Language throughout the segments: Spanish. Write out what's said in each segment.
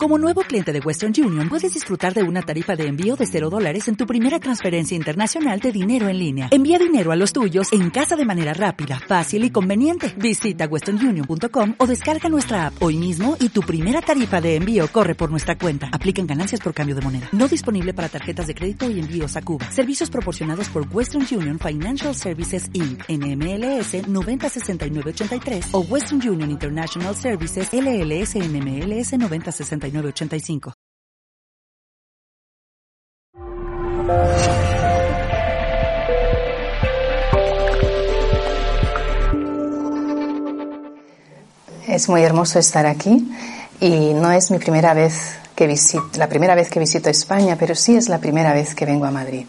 Como nuevo cliente de Western Union, puedes disfrutar de una tarifa de envío de $0 en tu primera transferencia internacional de dinero en línea. Envía dinero a los tuyos en casa de manera rápida, fácil y conveniente. Visita westernunion.com o descarga nuestra app hoy mismo y tu primera tarifa de envío corre por nuestra cuenta. Aplican ganancias por cambio de moneda. No disponible para tarjetas de crédito y envíos a Cuba. Servicios proporcionados por Western Union Financial Services Inc. NMLS 906983 o Western Union International Services LLS NMLS 906985. Es muy hermoso estar aquí y no es mi primera vez la primera vez que visito España, pero sí es la primera vez que vengo a Madrid.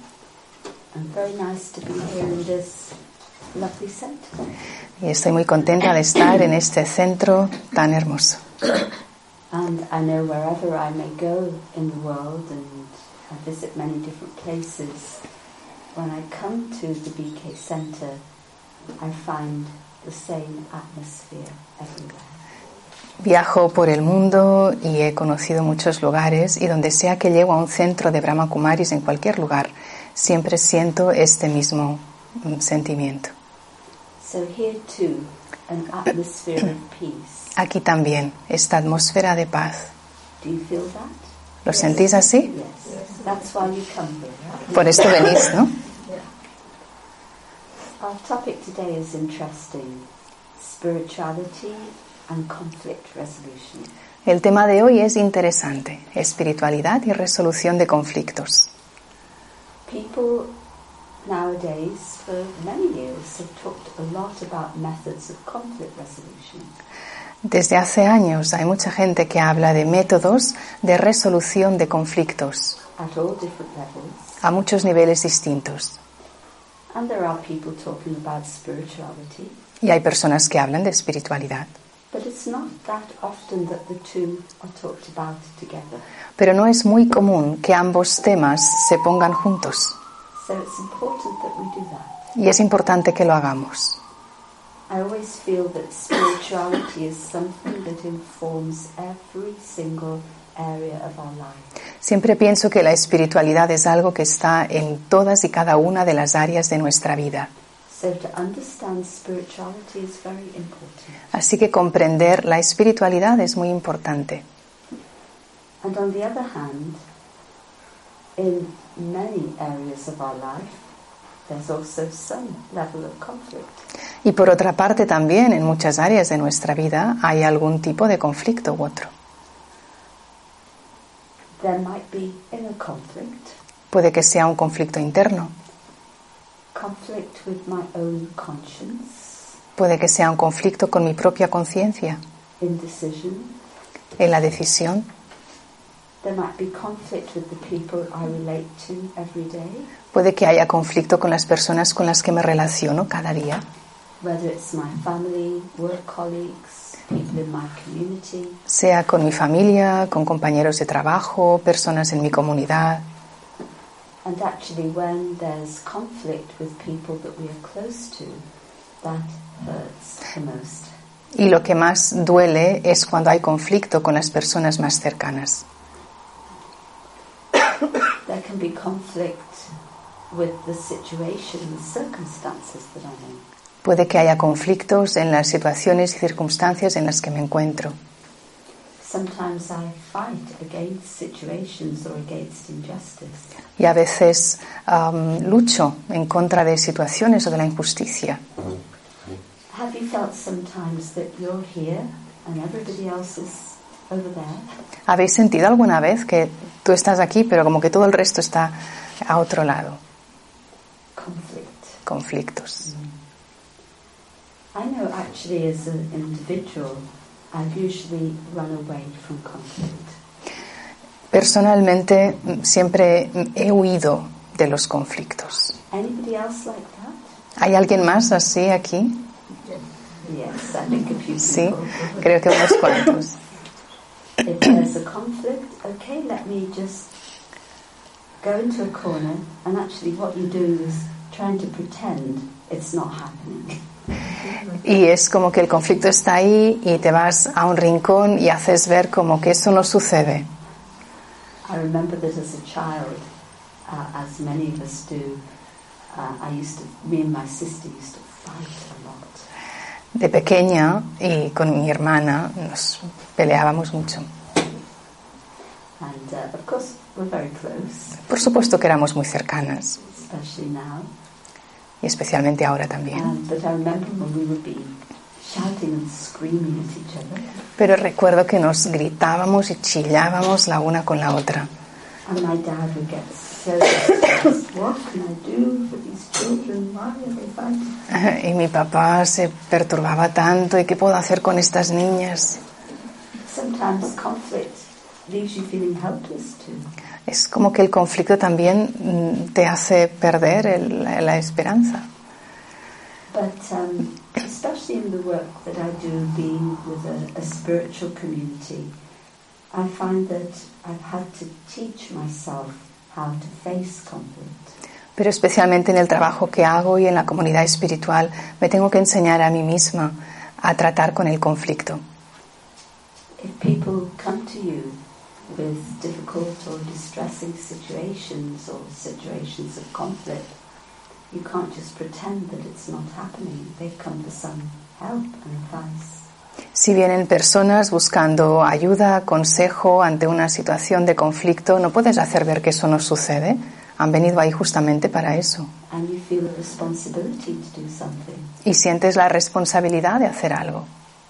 Y estoy muy contenta de estar en este centro tan hermoso. And I know wherever I may go in the world, and I visit many different places, when I come to the BK Center, I find the same atmosphere everywhere. Viajo por el mundo y he conocido muchos lugares, y donde sea que llego a un centro de Brahma Kumaris, en cualquier lugar, siempre siento este mismo sentimiento. So here too, an atmosphere of peace. Aquí también, esta atmósfera de paz. Do you feel that? ¿Lo sentís así? Yes. That's why you come here. Por esto venís, ¿no? Our topic today is interesting. Spirituality and conflict resolution. El tema de hoy es interesante, espiritualidad y resolución de conflictos. People nowadays, for many years, have talked a lot about methods of conflict resolution. Desde hace años hay mucha gente que habla de métodos de resolución de conflictos At all different levels. a muchos niveles distintos. And there are people talking about spirituality. Y hay personas que hablan de espiritualidad. But it's not that often that the two are talked about together. Pero no es muy común que ambos temas se pongan juntos. So it's important that we do that. Y es importante que lo hagamos. I always feel that spirituality is something that informs every single area of our life. Siempre pienso que la espiritualidad es algo que está en todas y cada una de las áreas de nuestra vida. So to understand spirituality is very important. Así que comprender la espiritualidad es muy importante. And on the other hand, in many areas of our life, there's also some level of conflict. Y por otra parte también en muchas áreas de nuestra vida hay algún tipo de conflicto u otro. There might be inner conflict. Puede que sea un conflicto interno. Conflict with my own conscience. Puede que sea un conflicto con mi propia conciencia. Indecision. En la decisión. There might be conflict with the people I relate to every day. Puede que haya conflicto con las personas con las que me relaciono cada día. Whether it's my family, work colleagues, people in my community. Sea con mi familia, con compañeros de trabajo, personas en mi comunidad. And actually when there's conflict with people that we are close to, that hurts the most. Y lo que más duele es cuando hay conflicto con las personas más cercanas. There can be conflict with the situation, the circumstances that I'm in. Puede que haya conflictos en las situaciones y circunstancias en las que me encuentro. Sometimes I fight against situations or against injustice. Y a veces lucho en contra de situaciones o de la injusticia. Have you felt sometimes that you're here and everybody else is over there? ¿Habéis sentido alguna vez que tú estás aquí, pero como que todo el resto está a otro lado? Conflictos. I know actually as an individual, I usually run away from conflict. Personalmente siempre he huido de los conflictos. Anybody else like that? ¿Hay alguien más así aquí? Yes, I think a few people. Sí, creo que unos cuantos. If there's a conflict, okay, let me just go into a corner and actually what you're doing is trying to pretend it's not happening. Y es como que el conflicto está ahí y te vas a un rincón y haces ver como que eso no sucede. I remember that as a child, as many of us do, me and my sister used to fight a lot. De pequeña y con mi hermana nos peleábamos mucho. And of course we're very close. Por supuesto que éramos muy cercanas. Especially now. Y especialmente ahora también. But I remember when we would be shouting and screaming at each other. Pero recuerdo que nos gritábamos y chillábamos la una con la otra. And my dad would get so distressed. What can I do for these children? Why are they fighting? Y mi papá se perturbaba tanto. ¿Y qué puedo hacer con estas niñas? Sometimes conflict leaves you feeling helpless too. Es como que el conflicto también te hace perder la esperanza. But especially in the work that I do, being with a spiritual community, I find that I've had to teach myself how to face conflict. Pero especialmente en el trabajo que hago y en la comunidad espiritual, me tengo que enseñar a mí misma a tratar con el conflicto. If people come to you with difficult or distressing situations or situations of conflict, you can't just pretend that it's not happening. They've come for some help and advice. Si vienen personas buscando ayuda, consejo ante una situación de conflicto, no puedes hacer ver que eso no sucede. Han venido ahí justamente para eso. And you feel a responsibility to do something. Y sientes la responsabilidad de hacer algo.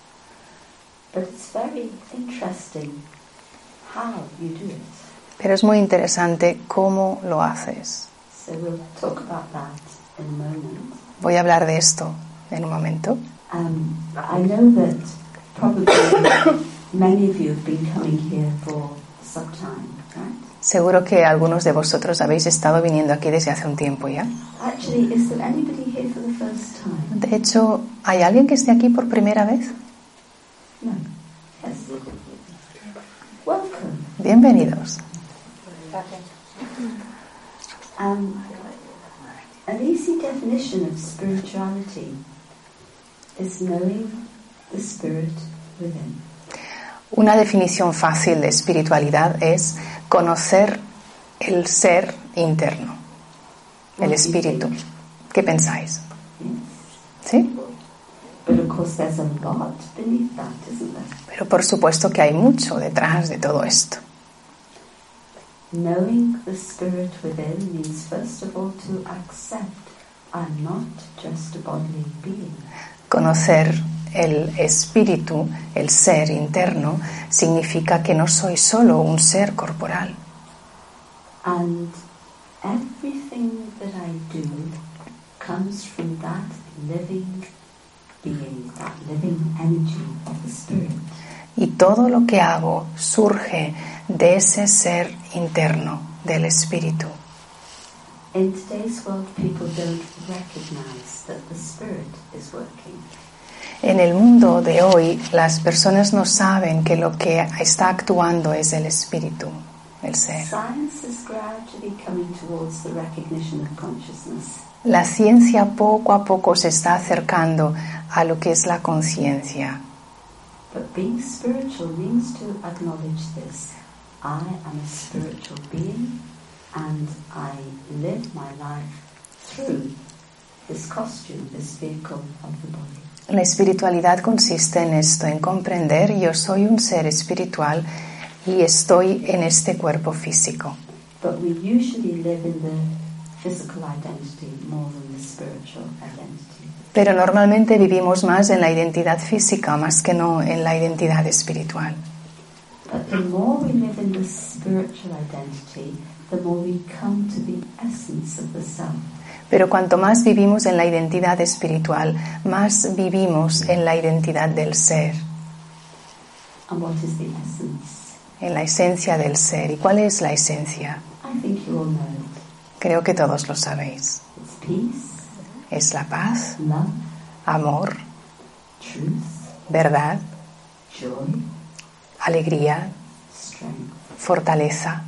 But it's very interesting how you do it. Pero es muy interesante cómo lo haces. So we'll talk about that in a moment. Voy a hablar de esto en un momento. I know that probably many of you have been coming here for some time, right? Seguro que algunos de vosotros habéis estado viniendo aquí desde hace un tiempo ya. Actually, is there anybody here for the first time? De hecho, ¿hay alguien que esté aquí por primera vez? No. Yes. Welcome. Bienvenidos. An easy definition of spirituality is knowing the spirit within. Una definición fácil de espiritualidad es conocer el ser interno, el espíritu. ¿Qué pensáis? ¿Sí? But of course there's a lot beneath that, isn't there? Pero por supuesto que hay mucho detrás de todo esto. Knowing the spirit within means first of all to accept I'm not just a bodily being. Conocer el espíritu, el ser interno, significa que no soy solo un ser corporal. And everything that I do comes from that living being, that living energy of the spirit. Y todo lo que hago surge de ese ser interno, del espíritu. In today's world, people don't recognize that the spirit is working. En el mundo de hoy, las personas no saben que lo que está actuando es el espíritu, el ser. Science is gradually coming towards the recognition of consciousness. La ciencia poco a poco se está acercando a lo que es la conciencia. But being spiritual means to acknowledge this. I am a spiritual being and I live my life through this costume, this vehicle of the body. La espiritualidad consiste en esto, en comprender yo soy un ser espiritual y estoy en este cuerpo físico. But we usually live in the physical identity more than the spiritual identity. Pero normalmente vivimos más en la identidad física más que no en la identidad espiritual. But the more we live in the spiritual identity, the more we come to the essence of the self. Pero cuanto más vivimos en la identidad espiritual, más vivimos en la identidad del ser, And what is the essence? en la esencia del ser. ¿Y cuál es la esencia? I think you all know it. Creo que todos lo sabéis. It's peace, Es la paz, love, amor, truth, verdad, joy, alegría, strength. fortaleza.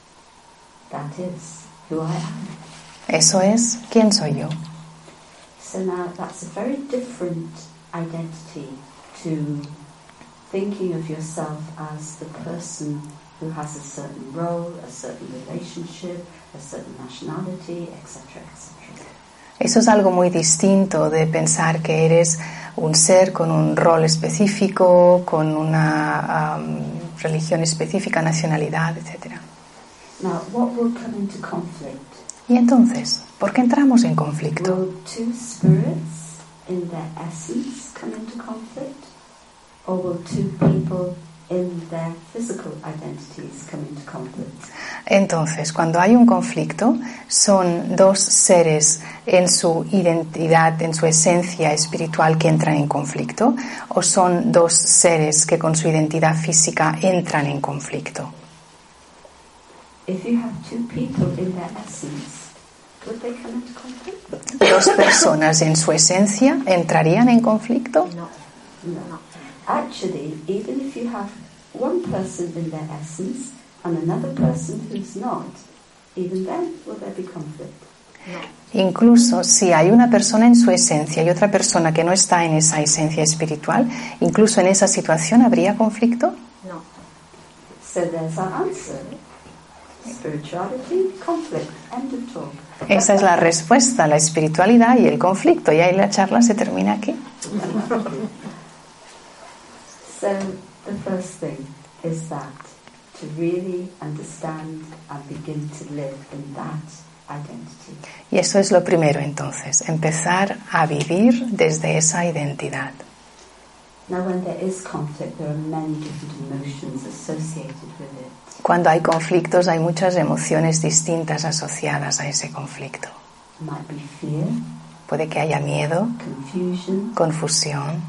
That is who I am. Eso es quién soy yo. So now that's a very different identity to thinking of yourself as the person who has a certain role, a certain relationship, a certain nationality, etc., etc. Eso es algo muy distinto de pensar que eres un ser con un rol específico, con una religión específica, nacionalidad, etc. Now, what will come into conflict? Y entonces, ¿por qué entramos en conflicto? Will two spirits in their essence come into conflict? Or will two people in their physical identities come into conflict? Entonces, cuando hay un conflicto, ¿son dos seres en su identidad, en su esencia espiritual que entran en conflicto? ¿O son dos seres que con su identidad física entran en conflicto? If you have two people in their essence, would they come into conflict? ¿Dos personas en su esencia entrarían en conflicto? No. Actually, even if you have one person in their essence and another person who's not, even then will there be conflict? No. Incluso si hay una persona en su esencia y otra persona que no está en esa esencia espiritual, incluso en esa situación habría conflicto? No. So there's our answer. Spirituality, conflict, end of talk. Esa es la respuesta, la espiritualidad y el conflicto. Y ahí la charla se termina aquí. So the first thing is that to really understand and begin to live in that identity. Y eso es lo primero entonces, empezar a vivir desde esa identidad. Now when there is conflict, there are many different emotions associated with it. Cuando hay conflictos hay muchas emociones distintas asociadas a ese conflicto. Might be fear, puede que haya miedo, confusion, confusión,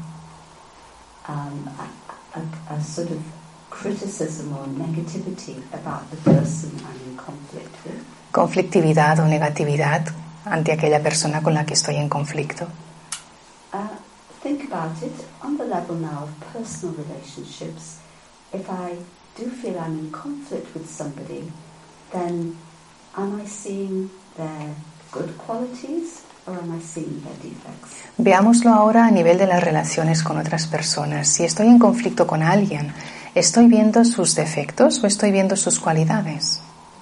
a sort of criticism or negativity about the person I'm in conflict with. Conflictividad o negatividad ante aquella persona con la que estoy en conflicto. Think about it on the level now of personal relationships. If I do feel I'm in conflict with somebody, then am I seeing their good qualities or am I seeing their defects? Veámoslo ahora a nivel de las relaciones con otras personas. Si estoy en conflicto con alguien, ¿estoy viendo sus defectos o estoy viendo sus cualidades?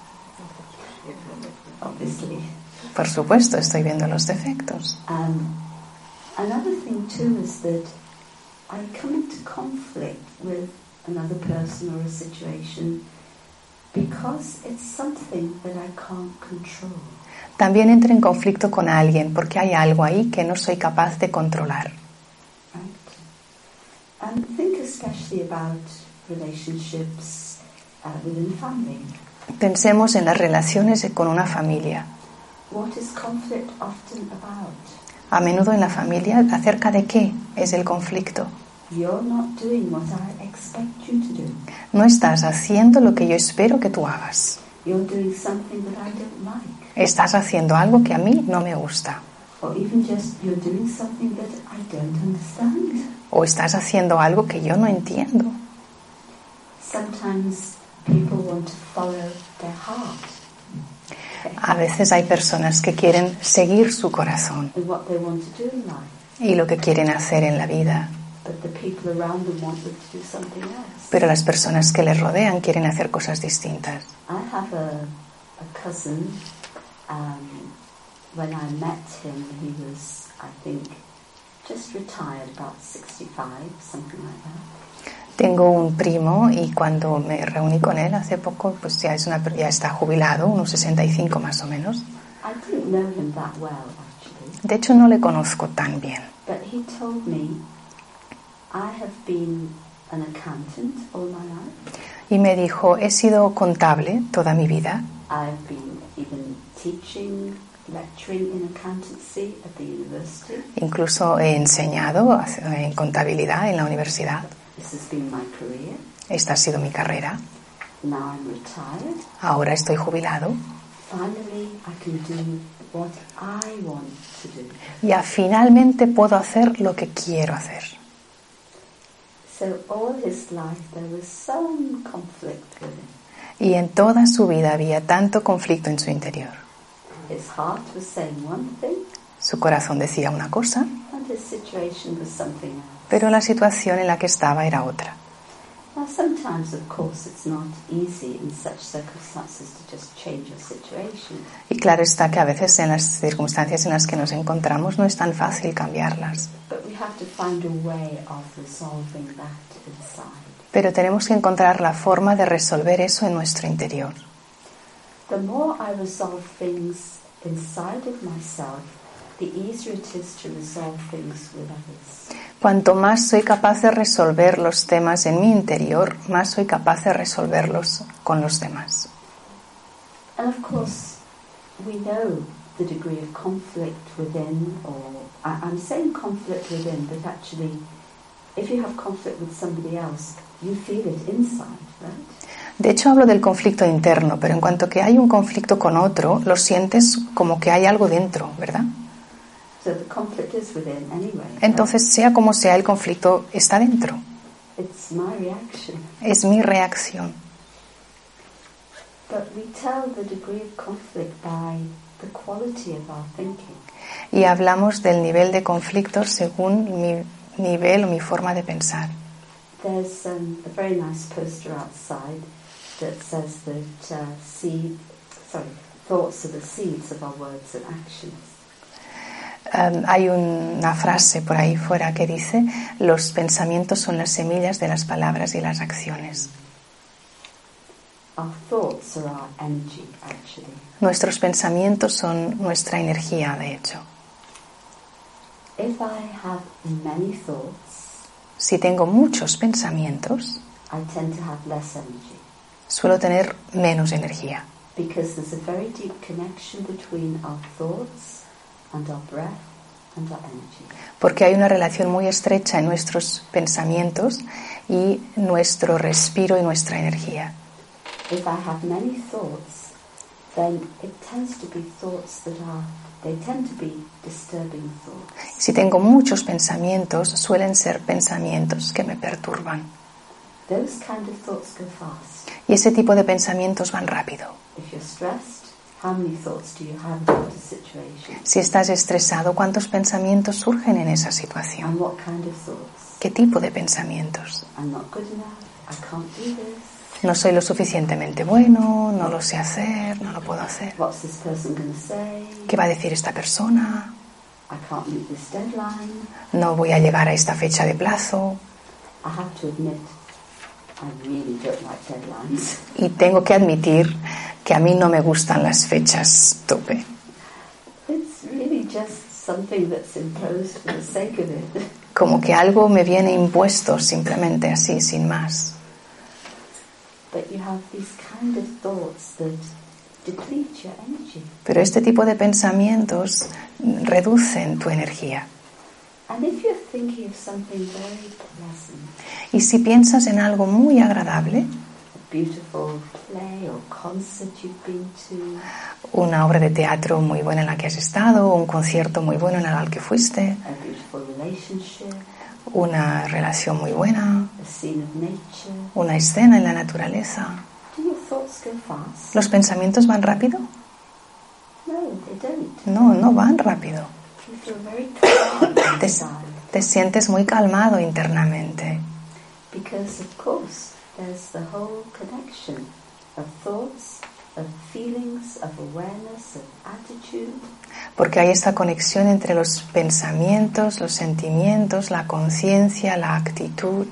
Obviously. Por supuesto, estoy viendo los defectos. Another thing too is that I come into conflict with another person or a situation because it's something that I can't control. También entro en conflicto con alguien porque hay algo ahí que no soy capaz de controlar. Right? And think especially about relationships within family. Pensemos en las relaciones con una familia. What is conflict often about? A menudo en la familia, ¿acerca de qué es el conflicto? You're not doing what I expect you to do. No estás haciendo lo que yo espero que tú hagas. You're doing something that I don't like. Estás haciendo algo que a mí no me gusta. Or even just you're doing something that I don't understand. O estás haciendo algo que yo no entiendo. Sometimes people want to follow their heart. A veces hay personas que quieren seguir su corazón And what they want to do in life. y lo que quieren hacer en la vida. But the people around them want them to do something else. Pero las personas que les rodean quieren hacer cosas distintas. I have a cousin. When I met him, he was, I think, just retired, about 65, something like that. Tengo un primo y cuando me reuní con él hace poco, pues ya está jubilado, unos 65 más o menos. I didn't know him that well, actually. De hecho, no le conozco tan bien. But he told me, I have been an accountant all my life. Y me dijo, he sido contable toda mi vida. I've been even teaching, lecturing in accountancy at the university. Incluso he enseñado en contabilidad en la universidad. This has been my career. Esta ha sido mi carrera. Now I'm retired. Ahora estoy jubilado. Finally, I can do what I want to do. Ya finalmente puedo hacer lo que quiero hacer. So all his life there was some conflict with him. Y en toda su vida había tanto conflicto en su interior. His heart was saying one thing. Su corazón decía una cosa, and his situation was something else. pero la situación en la que estaba era otra. Now, sometimes, of course, it's not easy in such circumstances to just change your situation. Y claro está que a veces en las circunstancias en las que nos encontramos no es tan fácil cambiarlas. But we have to find a way of resolving that inside. Pero tenemos que encontrar la forma de resolver eso en nuestro interior. The more I resolve things inside of myself, the easier it is to resolve things with others. Cuanto más soy capaz de resolver los temas en mi interior, más soy capaz de resolverlos con los demás. And of course, we know the degree of conflict within, or I'm saying conflict within, but actually, if you have conflict with somebody else, you feel it inside, right? De hecho, hablo del conflicto interno, pero en cuanto que hay un conflicto con otro, lo sientes como que hay algo dentro, ¿verdad? So the conflict is within anyway. Entonces, sea como sea, el conflicto está dentro. It's my reaction. Es mi reacción. But we tell the degree of conflict by the quality of our thinking. Y hablamos del nivel de conflicto según mi nivel o mi forma de pensar. There's a very nice poster outside that says that thoughts are the seeds of our words and actions. Hay una frase por ahí fuera que dice: los pensamientos son las semillas de las palabras y las acciones. Our thoughts are our energy, actually. Nuestros pensamientos son nuestra energía, de hecho. If I have many thoughts, Si tengo muchos pensamientos, I tend to have less energy. suelo tener menos energía. Because there's a very deep connection between our thoughts and our breath and our energy. Porque hay una relación muy estrecha en nuestros pensamientos y nuestro respiro y nuestra energía. If I have many thoughts, then it tends to be thoughts they tend to be disturbing thoughts. Si tengo muchos pensamientos, suelen ser pensamientos que me perturban. Those kind of thoughts go fast. Y ese tipo de pensamientos van rápido. If you're stressed, how many thoughts do you have about a situation? Si estás estresado, ¿cuántos pensamientos surgen en esa situación? And what kind of thoughts? ¿Qué tipo de pensamientos? I'm not good enough. I can't do this. No soy lo suficientemente bueno, no lo sé hacer, no lo puedo hacer. What's this person going to say? ¿Qué va a decir esta persona? I can't meet this deadline. No voy a llegar a esta fecha de plazo. I have to admit, I really don't like deadlines. Y tengo que admitir que a mí no me gustan las fechas tope. It's really just something that's imposed for the sake of it. Como que algo me viene impuesto simplemente así, sin más. But you have these kind of thoughts that deplete your energy. Pero este tipo de pensamientos reducen tu energía. And if you're thinking of something very pleasant, Y si piensas en algo muy agradable, a beautiful play or concert you've been to, una obra de teatro muy buena en la que has estado, un concierto muy bueno en el que fuiste, a beautiful relationship, una relación muy buena, a scene of nature, una escena en la naturaleza, do your thoughts go fast? ¿los pensamientos van rápido? No, they don't. No, no van rápido. You feel very calm Te, inside. te sientes muy calmado internamente. Because, of course, there's the whole connection of thoughts, of feelings, of awareness, of attitude. Porque hay esta conexión entre los pensamientos, los sentimientos, la conciencia, la actitud.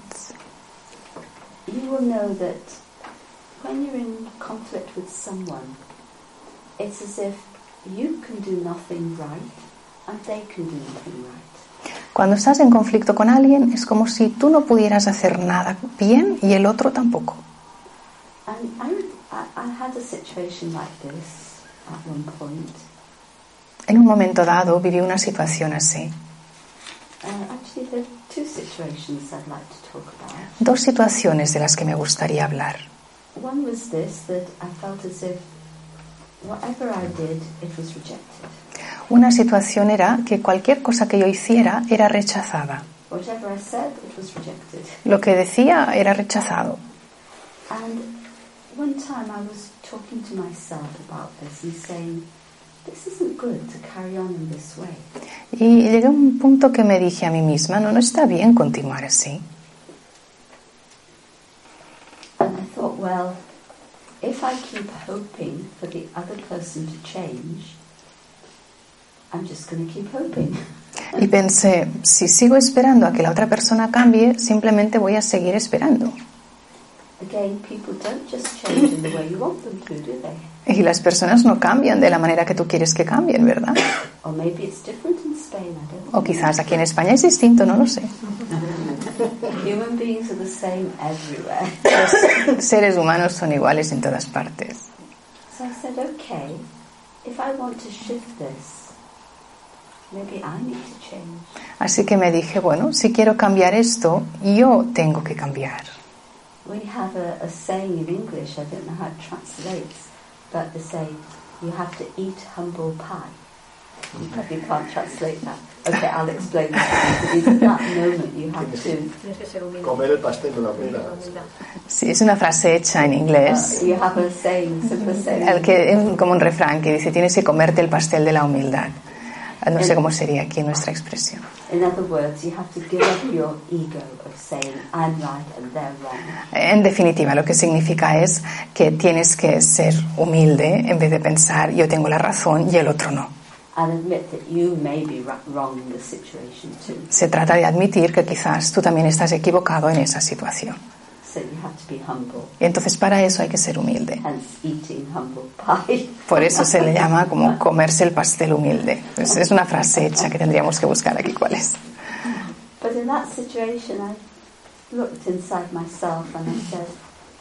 You will know that when you're in conflict with someone, it's as if you can do nothing right and they can do nothing right. Cuando estás en conflicto con alguien, es como si tú no pudieras hacer nada bien y el otro tampoco. And I had a situation like this at one point. En un momento dado viví una situación así. Actually, there are two situations I'd like to talk about. Dos situaciones de las que me gustaría hablar. One was this, that I felt as if whatever I did, it was rejected. Una situación era que cualquier cosa que yo hiciera era rechazada. Whatever I said, it was rejected. Lo que decía era rechazado. And one time I was talking to myself about this and saying, this isn't good to carry on in this way. Y llegué a un punto que me dije a mí misma, no está bien continuar así. And I thought, well, if I keep hoping for the other person to change, I'm just going to keep hoping. Y pensé, si sigo esperando a que la otra persona cambie, simplemente voy a seguir esperando. Again, people don't just change in the way you want them to, do they? Y las personas no cambian de la manera que tú quieres que cambien, ¿verdad? Or maybe it's different in Spain, I don't O quizás aquí en España es distinto, no lo sé. know. Human beings are the same everywhere. Los seres humanos son iguales en todas partes. So I said, okay, if I want to shift this, maybe I need to change. Así que me dije, bueno, si quiero cambiar esto, yo tengo que cambiar. We have a saying in English, I don't know how it translates, but they say, you have to eat humble pie. You probably can't translate that. Okay, I'll explain that. Because at that moment you have to... Comer el pastel de la humildad. Sí, es una frase hecha en inglés, You have a saying, simple saying. como un refrán que dice, tienes que comerte el pastel de la humildad. No sé cómo sería aquí nuestra expresión. In other words, you have to give up your ego of saying, I'm right and they're wrong. En definitiva, lo que significa es que tienes que ser humilde en vez de pensar, yo tengo la razón y el otro no. And admit that you may be wrong in the situation too. Se trata de admitir que quizás tú también estás equivocado en esa situación. So you have to be humble. Y entonces para eso hay que ser humilde. Hence eating humble pie. Por eso se le llama como comerse el pastel humilde. Pues es una frase hecha que tendríamos que buscar aquí cuál es. But in that situation, I looked inside myself and I said,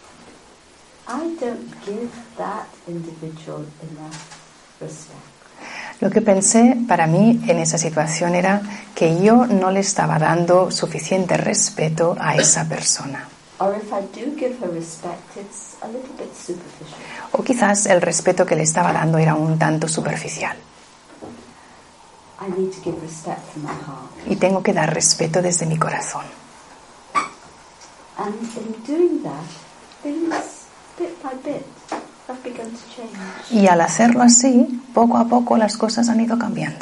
I don't give that individual enough respect. Lo que pensé para mí en esa situación era que yo no le estaba dando suficiente respeto a esa persona. Or if I do give her respect, it's a little bit superficial. O quizás el respeto que le estaba dando era un tanto superficial. I need to give respect from my heart. Y tengo que dar respeto desde mi corazón. And in doing that, things, bit by bit, have begun to change. Y al hacerlo así, poco a poco las cosas han ido cambiando.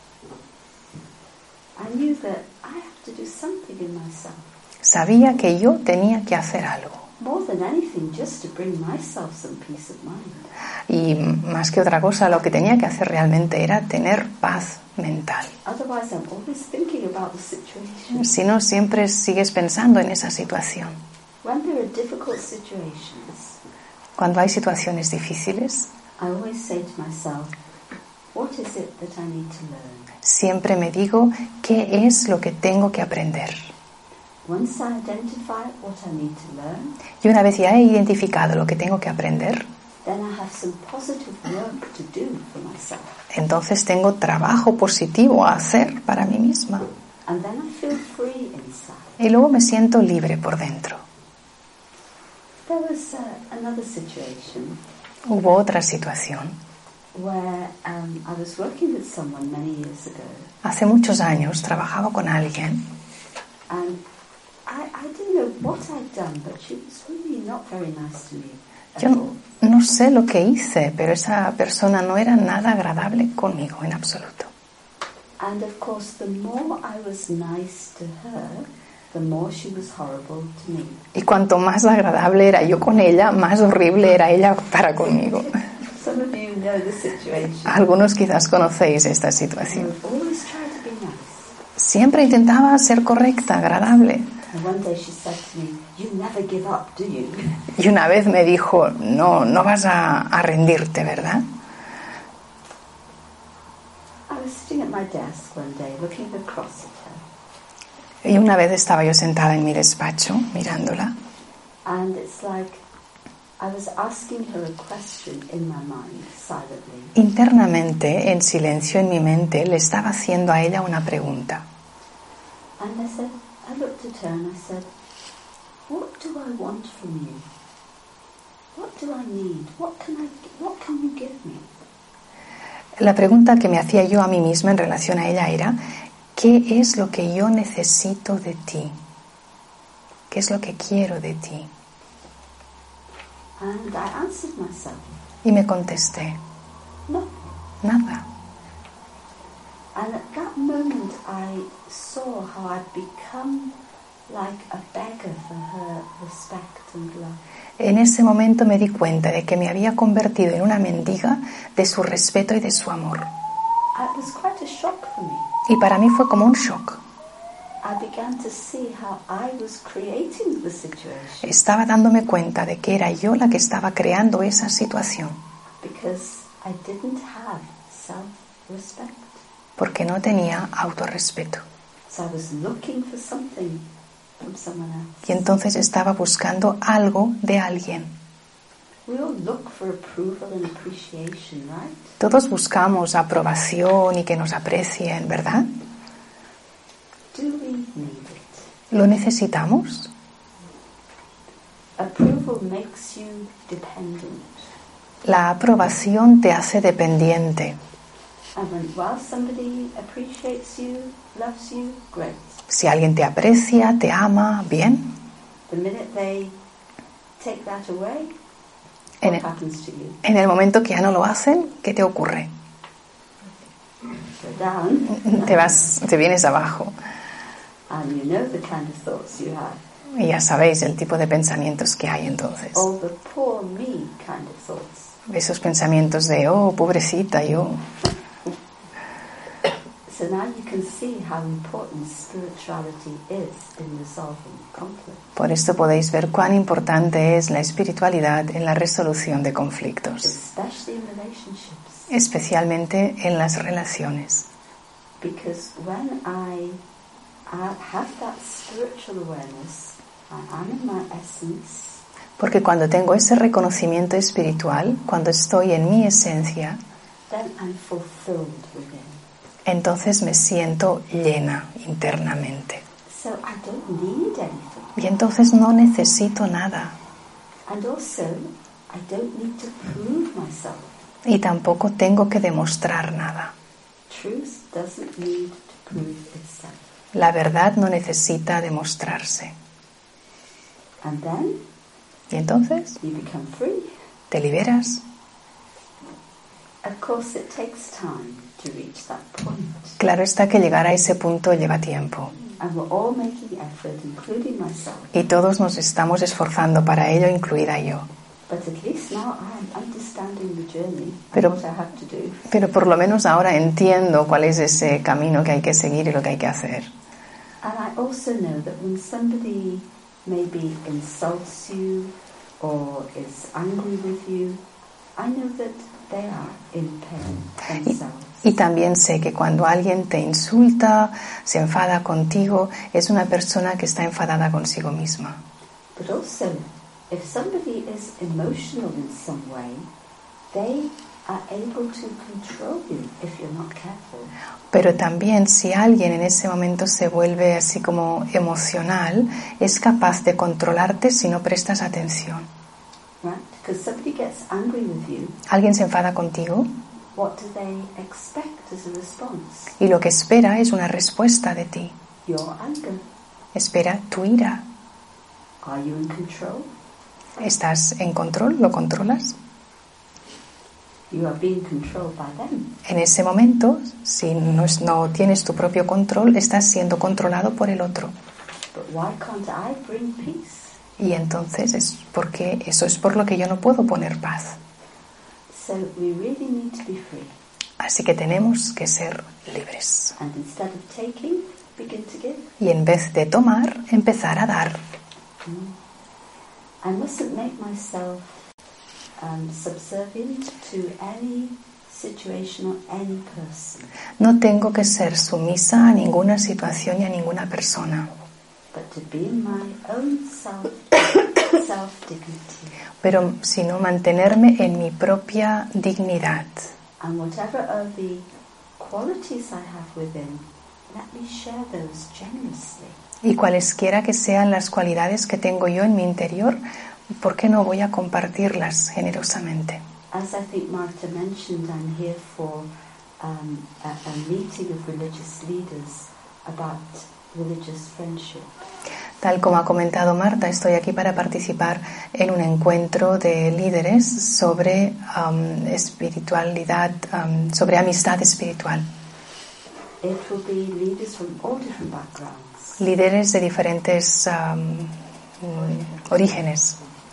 I knew that I have to do something in myself. Sabía que yo tenía que hacer algo. More than anything, just to bring myself some peace of mind. Y más que otra cosa, lo que tenía que hacer realmente era tener paz mental. Otherwise, I'm always thinking about the situation. Si no, siempre sigues pensando en esa situación. When there are difficult situations, Cuando hay situaciones difíciles, I always say to myself, what is it that I need to learn? siempre me digo qué es lo que tengo que aprender. Once I identify what I need to learn, Y una vez ya he identificado lo que tengo que aprender, then I have some positive work to do for myself. entonces tengo trabajo positivo a hacer para mí misma. And then I feel free inside. Y luego me siento libre por dentro. There was another situation Hubo otra situación. where I was working with someone many years ago, Hace muchos años trabajaba con alguien and I didn't know what I'd done, but she was really not very nice to me at Yo all. no sé lo que hice, pero esa persona no era nada agradable conmigo en absoluto. And of course, the more I was nice to her, the more she was horrible to me. Y cuanto más agradable era yo con ella, más horrible era ella para conmigo. Some of you know the situation. Algunos quizás conocéis esta situación. I always try to be nice. Siempre intentaba ser correcta, agradable. And one day she said to me, "You never give up, do you?" Y una vez me dijo, no vas a rendirte, ¿verdad? I was sitting at my desk one day looking across at her. Y una vez estaba yo sentada en mi despacho mirándola. And it's like I was asking her a question in my mind, silently. Internamente, en silencio en mi mente, le estaba haciendo a ella una pregunta. And I looked at her and I said, "What do I want from you? What do I need? What can you give me?" La pregunta que me hacía yo a mí misma en relación a ella era, ¿qué es lo que yo necesito de ti? ¿Qué es lo que quiero de ti? And I answered myself, Y me contesté, "No." nada. And at that moment I saw how I'd become like a beggar for her respect and love. En ese momento me di cuenta de que me había convertido en una mendiga de su respeto y de su amor. It was quite a shock for me. Y para mí fue como un shock. I began to see how I was creating the situation. Estaba dándome cuenta de que era yo la que estaba creando esa situación. Because I didn't have self-respect. Porque no tenía autorrespeto. So I was looking for something from someone else. Y entonces estaba buscando algo de alguien. We all look for approval and appreciation, right? Todos buscamos aprobación y que nos aprecien, ¿verdad? Do we need it? ¿Lo necesitamos? Approval makes you dependent. La aprobación te hace dependiente. And while somebody appreciates you, loves you, great. Si alguien te aprecia, te ama, bien. The minute they take that away, En what happens to you? el momento que ya no lo hacen, ¿qué te ocurre? Go down. Te vienes abajo. And you know the kind of thoughts you have. Y ya sabéis el tipo de pensamientos que hay entonces. All the poor me kind of thoughts. Esos pensamientos de, oh, pobrecita, yo. So now you can see how important spirituality is in resolving conflict. Por esto podéis ver cuán importante es la espiritualidad en la resolución de conflictos, Especially in relationships. especialmente en las relaciones. Because when I have that spiritual awareness, I'm in my essence. Porque cuando tengo ese reconocimiento espiritual, cuando estoy en mi esencia, Then I'm fulfilled within. entonces me siento llena internamente. So I don't need anything. Y entonces no necesito nada. And also, I don't need to prove myself. Y tampoco tengo que demostrar nada. Truth doesn't need to prove itself. La verdad no necesita demostrarse. And then Y entonces you become free. te liberas. Of course, it takes time to reach that point. Claro está que llegar a ese punto lleva tiempo. And we're all making effort, including myself. Y todos nos estamos esforzando para ello, incluida yo. But at least now I'm understanding the journey Pero- and what I have to do. Pero por lo menos ahora entiendo cuál es ese camino que hay que seguir y lo que hay que hacer. And I also know that when somebody maybe insults you or is angry with you, I know that they are in pain themselves. Y también sé que cuando alguien te insulta, se enfada contigo, es una persona que está enfadada consigo misma. But also, if somebody is emotional in some way, they are able to control you if you're not careful. Pero también si alguien en ese momento se vuelve así como emocional, es capaz de controlarte si no prestas atención. Right? Because somebody gets angry with you, Alguien se enfada contigo what do they expect as a response? y lo que espera es una respuesta de ti. Your anger. Espera tu ira. Are you in control? ¿Estás en control? ¿Lo controlas? You are being controlled by them. En ese momento, si no tienes tu propio control, estás siendo controlado por el otro. But why can't I bring peace? Y entonces eso es por lo que yo no puedo poner paz. So we really need to be free. Así que tenemos que ser libres. And instead of taking, begin to give. Y en vez de tomar, empezar a dar. I mustn't make myself subservient to any situation or any person, No tengo que ser sumisa a ninguna situación y a ninguna persona, but to be in my own self-dignity. pero sino mantenerme en mi propia dignidad. And whatever are the qualities I have within, let me share those generously. Y cualesquiera que sean las cualidades que tengo yo en mi interior, ¿por qué no voy a compartirlas generosamente? As I think Martha mentioned, I'm here for a meeting of religious leaders about religious friendship. Tal como ha comentado Marta, estoy aquí para participar en un encuentro de líderes sobre espiritualidad, sobre amistad espiritual. It will be leaders from all different backgrounds. Líderes de diferentes orígenes.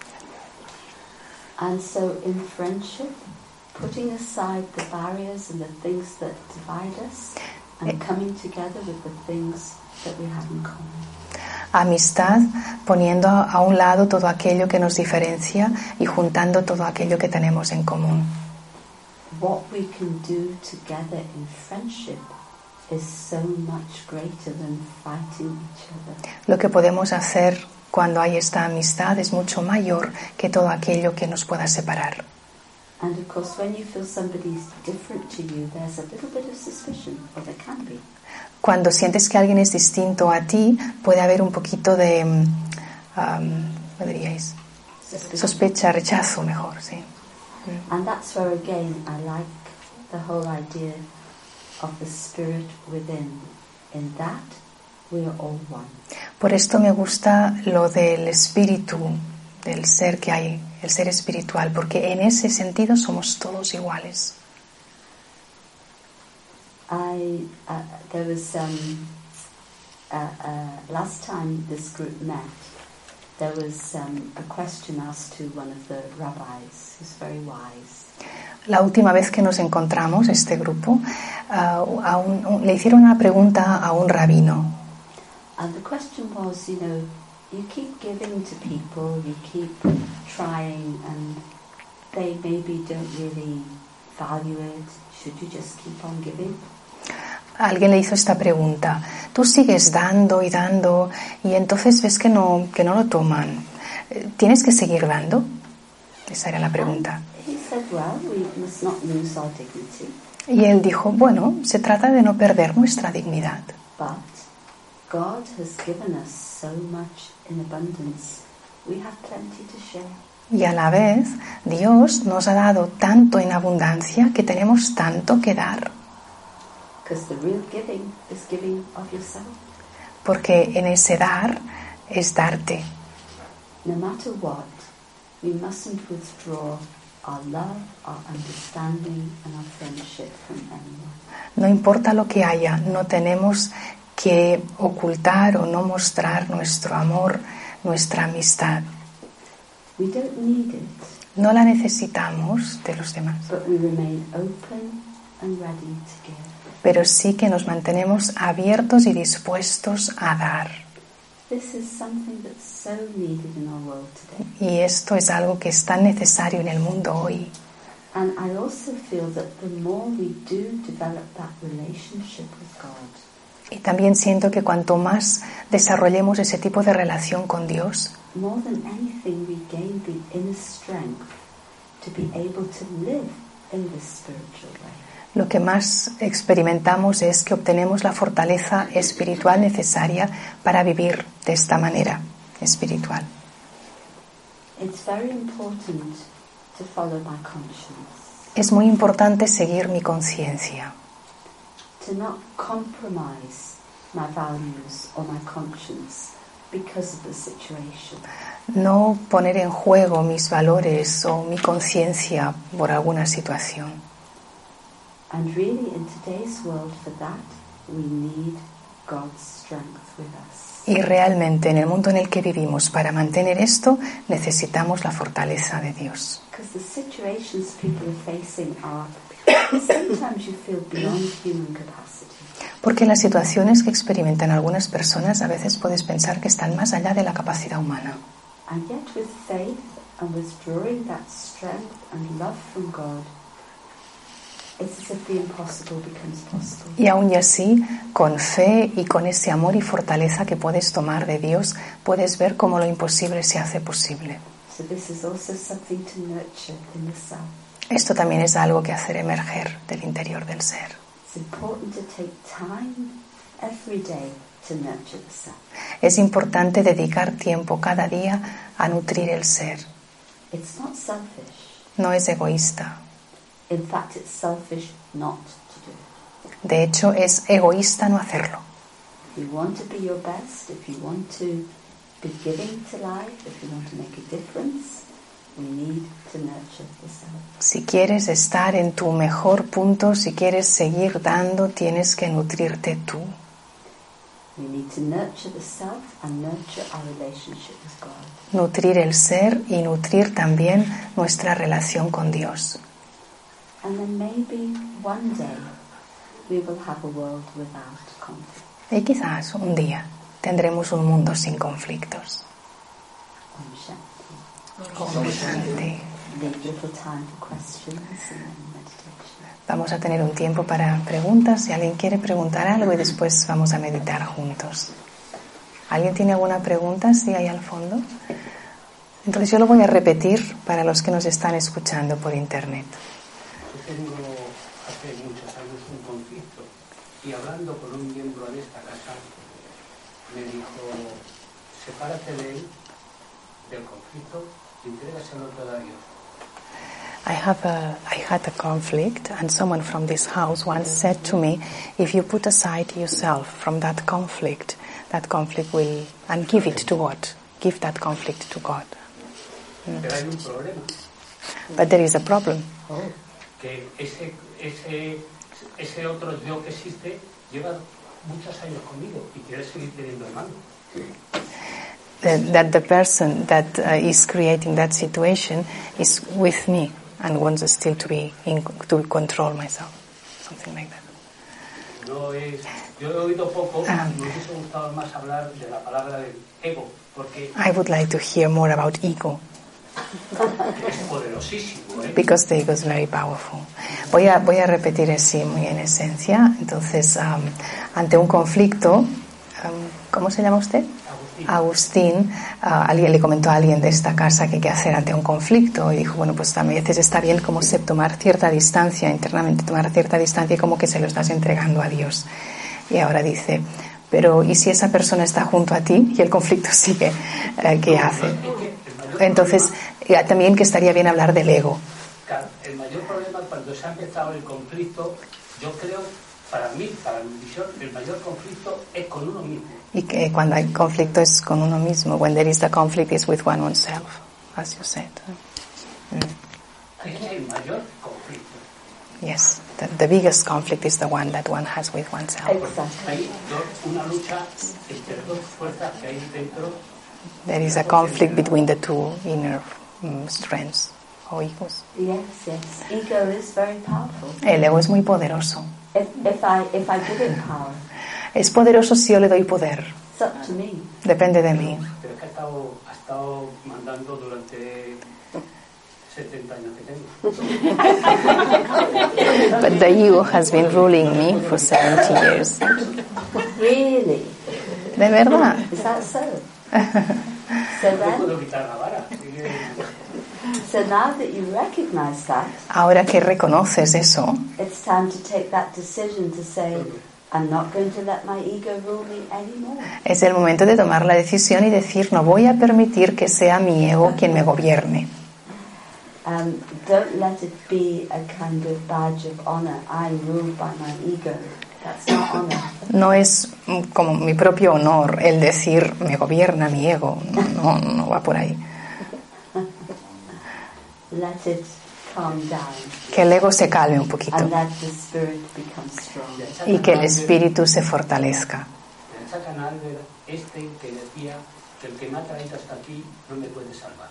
And so in friendship, putting aside the barriers and the things that divide us and coming together with the things that we have in common. Amistad, poniendo a un lado todo aquello que nos diferencia y juntando todo aquello que tenemos en común. What we can do together in friendship is so much greater than fighting each other. Lo que podemos hacer cuando hay esta amistad es mucho mayor que todo aquello que nos pueda separar. And of course, when you feel somebody's different to you, there's a little bit of suspicion, or there can be. Cuando sientes que alguien es distinto a ti, puede haber un poquito de, ¿cómo diríais? Sospecha, rechazo, mejor, sí. And that's where again I like the whole idea of the spirit within. In that, we are all one. Por esto me gusta lo del espíritu, del ser que hay, el ser espiritual, porque en ese sentido somos todos iguales. There was last time this group met, there was a question asked to one of the rabbis, who's very wise. La última vez que nos encontramos, este grupo, le hicieron una pregunta a un rabino. And the question was, you know, you keep giving to people, you keep trying, and they maybe don't really value it. Should you just keep on giving? Alguien le hizo esta pregunta. Tú sigues dando y dando y entonces ves que no lo toman. ¿Tienes que seguir dando? Esa era la pregunta. He said, well, we must not lose our dignity. Y él dijo, bueno, se trata de no perder nuestra dignidad. But God has given us so much in abundance. We have plenty to share. Y a la vez, Dios nos ha dado tanto en abundancia que tenemos tanto que dar. Because the real giving is giving of yourself. Porque en ese dar es darte. No matter what, we mustn't withdraw our love, our understanding and our friendship from anyone. No importa lo que haya, no tenemos que ocultar o no mostrar nuestro amor, nuestra amistad. We don't need it. No la necesitamos de los demás. But we remain open and ready to give. Pero sí que nos mantenemos abiertos y dispuestos a dar. This is something that's so needed in our world today. Y esto es algo que es tan necesario en el mundo hoy. And I also feel that the more we do develop that relationship with God, Y también siento que cuanto más desarrollemos ese tipo de relación con Dios, more than anything we gain the inner strength to be able to live in this spiritual way. lo que más experimentamos es que obtenemos la fortaleza espiritual necesaria para vivir de esta manera espiritual. It's very important to follow my conscience, Es muy importante seguir mi conciencia, to not compromise my values or my conscience because of the situation. no poner en juego mis valores o mi conciencia por alguna situación. And really in today's world for that we need God's strength with us. Y realmente en el mundo en el que vivimos, para mantener esto, necesitamos la fortaleza de Dios. Because the situations people are facing are sometimes you feel beyond human capacity. Porque las situaciones que experimentan algunas personas a veces puedes pensar que están más allá de la capacidad humana. And yet with faith and withdrawing that strength and love from God, it's as if the impossible becomes possible. Y aún y así, con fe y con ese amor y fortaleza que puedes tomar de Dios, puedes ver cómo lo imposible se hace posible. So this is also something to nurture in the self. Esto también es algo que hacer emerger del interior del ser. It's important to take time every day to nurture the self. Es importante dedicar tiempo cada día a nutrir el ser. It's not selfish. No es egoísta. In fact, it's selfish not to do it. De hecho, es egoísta no hacerlo. If you want to be your best, if you want to be giving to life, if you want to make a difference, we need to nurture the self. Si quieres estar en tu mejor punto, si quieres seguir dando, tienes que nutrirte tú. We need to nurture the self and nurture our relationship with God. Nutrir el ser y nutrir también nuestra relación con Dios. And then maybe one day we will have a world without conflict. Y quizás un día tendremos un mundo sin conflictos. Om Shanti. Leave little time for questions and then meditation. Vamos a tener un tiempo para preguntas. Si alguien quiere preguntar algo y después vamos a meditar juntos. ¿Alguien tiene alguna pregunta? Sí, ahí al fondo. Entonces yo lo voy a repetir para los que nos están escuchando por internet. Yo tengo hace muchos años un conflicto y hablando con un miembro de esta casa me dijo, sepárate de él, del conflicto, y entrégaselo todo a Dios. I had a conflict, and someone from this house once said to me, if you put aside yourself from that conflict will, and give it to God. Give that conflict to God. Pero hay un problema. But there is a problem. Que ese otro yo que existe lleva muchos años conmigo y quiere seguir teniendo hermanos. That the person that is creating that situation is with me and wants still to control myself, something like that. Yo he oído poco, me hubiese gustado más hablar de la palabra del ego, porque I would like to hear more about ego. es poderosísimo, Because the ego is very powerful. Voy a repetir así muy en esencia. Entonces, ante un conflicto, ¿cómo se llama usted? Agustín, alguien le comentó a alguien de esta casa que qué hacer ante un conflicto y dijo, bueno, pues a veces está bien como tomar cierta distancia, internamente tomar cierta distancia y como que se lo estás entregando a Dios. Y ahora dice, pero ¿y si esa persona está junto a ti y el conflicto sigue? ¿Qué hace? Entonces, también que estaría bien hablar del ego. Claro, el mayor problema cuando se ha empezado el conflicto, yo creo, para mí, para mi visión, el mayor conflicto es con uno mismo. Y que cuando hay conflicto es con uno mismo. When there is the conflict is with oneself, as you said. Es el mayor conflicto. Yes, the biggest conflict is the one that one has with oneself. Hay una lucha entre dos fuerzas que hay dentro. There is a conflict between the two inner strengths or egos. Yes. Ego is very powerful. El ego es muy poderoso. If I give it power, Es poderoso si yo le doy poder. it's up to me. Depende de mí. Pero es que ha estado mandando durante 70 años que tengo. But the ego has been ruling me for 70 years. Really? ¿De verdad? Is that so? No puedo quitar la vara. So now that you recognize that, Ahora que reconoces eso, it's time to take that decision to say, I'm not going to let my ego rule me anymore. es el momento de tomar la decisión y decir, no voy a permitir que sea mi ego quien me gobierne. Don't let it be a kind of badge of honor. I'm ruled by my ego. That's not honor. No es como mi propio honor el decir, me gobierna mi ego. No va por ahí. Let it calm down. Que el ego se calme un poquito And let the spirit become strong. y que el espíritu se fortalezca. En esa canal que decía que el que me ha traído hasta aquí no me puede salvar.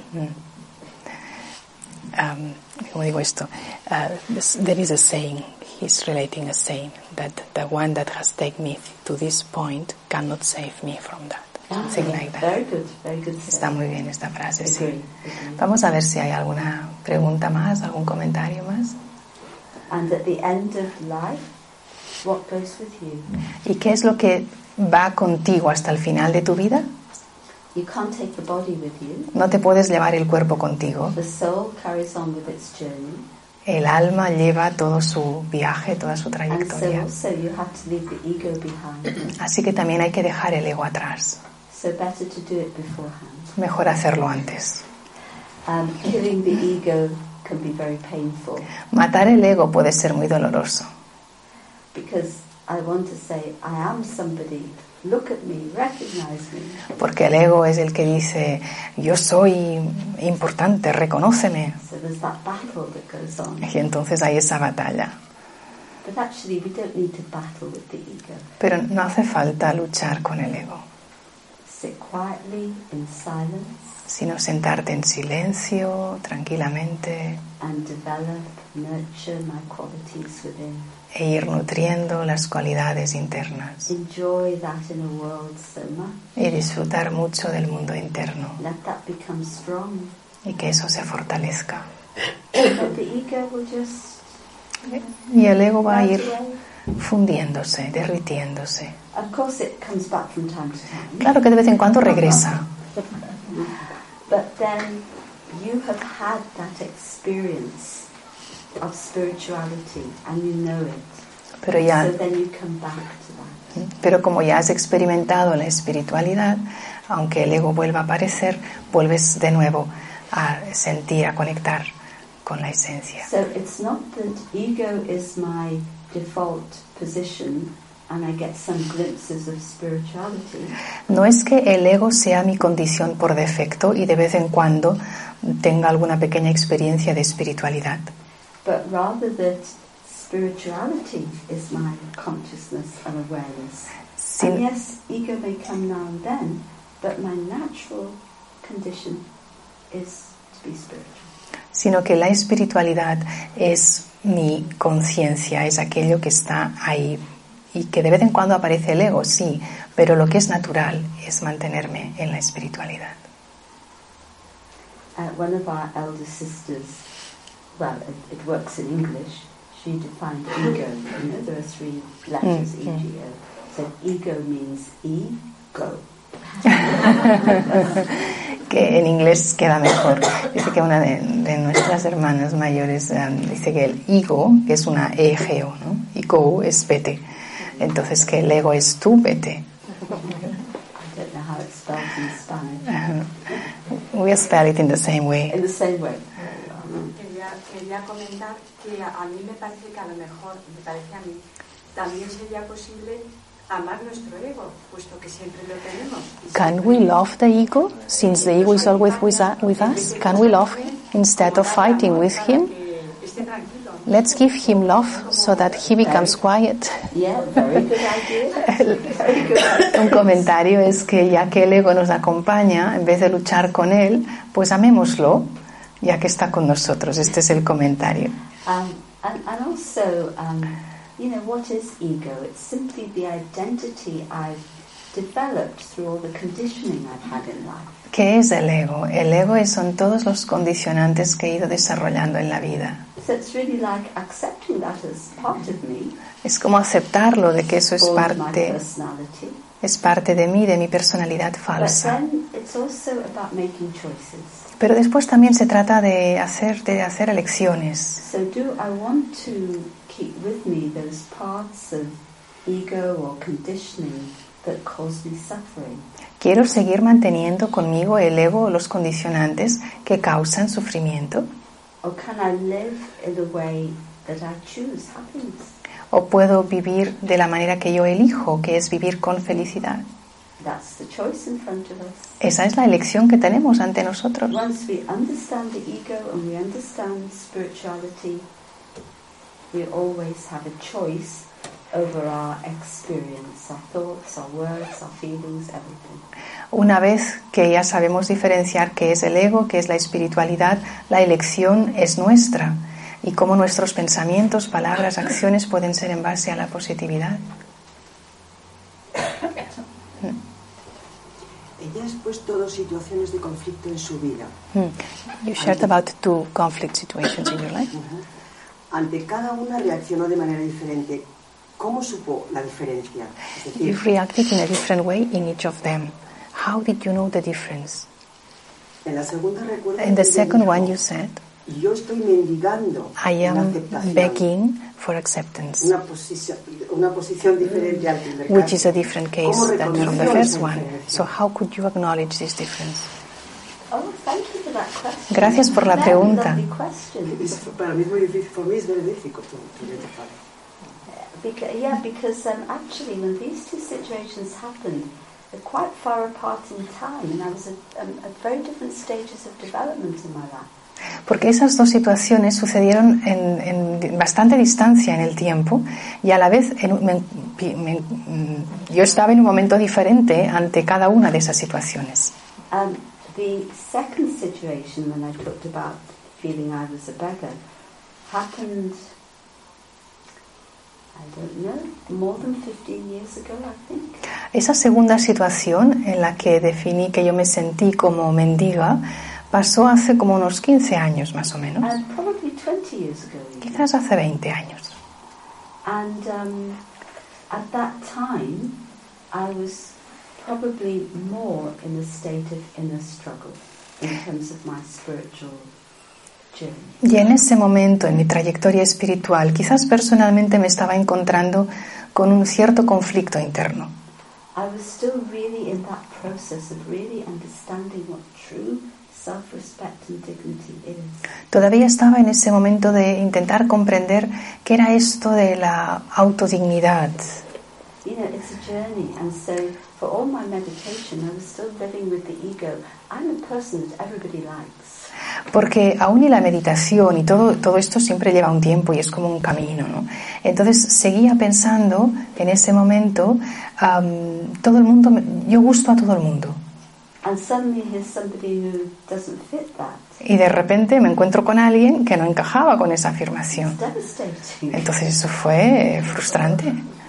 ¿Cómo digo esto? There is a saying, he's relating a saying, that the one that has taken me to this point cannot save me from that. Something like that. Very good. Está muy bien esta frase, sí. Agree. Vamos a ver si hay alguna pregunta más, algún comentario más. And at the end of life, what goes with you? ¿Y qué es lo que va contigo hasta el final de tu vida? You can't take the body with you. No te puedes llevar el cuerpo contigo. The soul carries on with its journey. El alma lleva todo su viaje, toda su And so trayectoria. also you have to leave the ego behind. Así que también hay que dejar el ego atrás. So better to do it beforehand. Mejor hacerlo antes. Killing the ego can be very painful. Matar el ego puede ser muy doloroso. Because I want to say, I am somebody look at me, recognize me. Porque el ego es el que dice, yo soy importante, reconóceme. So there's that battle that goes on. Y entonces hay esa batalla. But actually we don't need to battle with the ego. Pero no hace falta luchar con el ego, Sit quietly in silence sino sentarte en silencio, tranquilamente, and develop, nurture my qualities within. e ir nutriendo las cualidades internas Enjoy that inner world so much. y disfrutar mucho del mundo interno Let that become strong. y que eso se fortalezca. But the ego will just Y el ego va a melt ir away. fundiéndose, derritiéndose. Of course it comes back from time to time. Claro que de vez en cuando regresa, But then you have had that experience of spirituality and you know it. pero ya, So then you come back to that. pero como ya has experimentado la espiritualidad, aunque el ego vuelva a aparecer, vuelves de nuevo a sentir, a conectar con la esencia. So it's not that ego is my default position and I get some glimpses of spirituality. No es que el ego sea mi condición por defecto y de vez en cuando tenga alguna pequeña experiencia de espiritualidad, But rather that spirituality is my consciousness and awareness. Sin- And yes, ego may come now and then, but my natural condition is to be spiritual. sino que la espiritualidad es mi conciencia, es aquello que está ahí y que de vez en cuando aparece el ego, sí, pero lo que es natural es mantenerme en la espiritualidad. One of our elder sisters, well, it works in English, she defined ego. You know, there are three letters, E-G-O. So ego means ego. Que en inglés queda mejor. Dice que una de nuestras hermanas mayores dice que el ego, que es una E-G-O, ¿no? Ego es vete. Entonces que el ego es tú vete. I don't know how it's spelled in Spanish. We spell it in the same way. In the same way. Quería comentar que a mí me parece que a lo mejor, me parece a mí, también sería posible amar nuestro ego, puesto que siempre lo tenemos. Can we love the ego, since the ego is always with us? Can we love him instead of fighting with him? Que esté tranquilo. Let's give him love so that he becomes quiet. Yeah, very good idea. Very good idea. Un comentario es que ya que el ego nos acompaña, en vez de luchar con él, pues amémoslo, ya que está con nosotros. Este es el comentario. And also, you know, what is ego? It's simply the identity I've developed through all the conditioning I've had in life. ¿Qué es el ego? El ego son todos los condicionantes que he ido desarrollando en la vida. So it's really like accepting that as part of me, Es como aceptarlo de que eso es or my parte de mí, de mi personalidad But falsa. then it's also about making choices. Pero después también se trata de hacer elecciones. So do I want to keep with me those parts of ego or conditioning that cause me suffering? ¿Quiero seguir manteniendo conmigo el ego o los condicionantes que causan sufrimiento? Or can I live in the way that I choose happiness? ¿O puedo vivir de la manera que yo elijo, que es vivir con felicidad? That's the choice in front of us. Esa es la elección que tenemos ante nosotros. Once we understand the ego and we understand spirituality, we always have a choice over our experience, our thoughts, our words, our feelings, everything. Una vez que ya sabemos diferenciar qué es el ego, qué es la espiritualidad, la elección es nuestra y cómo nuestros pensamientos, palabras, acciones pueden ser en base a la positividad. Ella ha expuesto dos situaciones de conflicto en su vida. You shared about 2 conflict situations in your life. Ante cada una reaccionó de manera diferente. ¿Cómo supo la diferencia? Es decir, You've reacted in a different way in each of them. How did you know the difference? en la segunda recuerda In the que ella second dijo, one you said, yo estoy mendigando I la am aceptación. begging for acceptance, Una posición diferente al primer which caso. is a different case ¿Cómo than from the reconoció first esa one. diferencia? So how could you acknowledge this difference? Oh, thank you for that question. Gracias por la Very pregunta. lovely question. Para mí es muy difícil, for me it's very difficult to identify. Because actually when these two situations happened, they're quite far apart in time, and I was at very different stages of development in my life. Porque esas dos situaciones sucedieron en bastante distancia en el tiempo y a la vez yo estaba en un momento diferente ante cada una de esas situaciones. The second situation, when I talked about feeling I was a beggar, happened, I don't know, more than 15 years ago, I think. Esa segunda situación en la que definí que yo me sentí como mendiga pasó hace como unos 15 años más o menos. Probably 20 years ago. Quizás hace 20 años. And at that time, I was probably more in a state of inner struggle in terms of my spiritual journey. Y en ese momento, en mi trayectoria espiritual, quizás personalmente me estaba encontrando con un cierto conflicto interno. I was still really in that process of really understanding what true self-respect and dignity is. Todavía estaba en ese momento de intentar comprender qué era esto de la autodignidad. You know, it's a journey, and so for all my meditation, I was still living with the ego. I'm a person that everybody likes. Porque aún y la meditación y todo esto siempre lleva un tiempo y es como un camino, ¿no? Entonces seguía pensando en ese momento, todo el mundo, yo gusto a todo el mundo. And suddenly here's somebody who doesn't fit that. Y de repente me encuentro con alguien que no encajaba con esa afirmación. It's devastating. Entonces eso fue frustrante.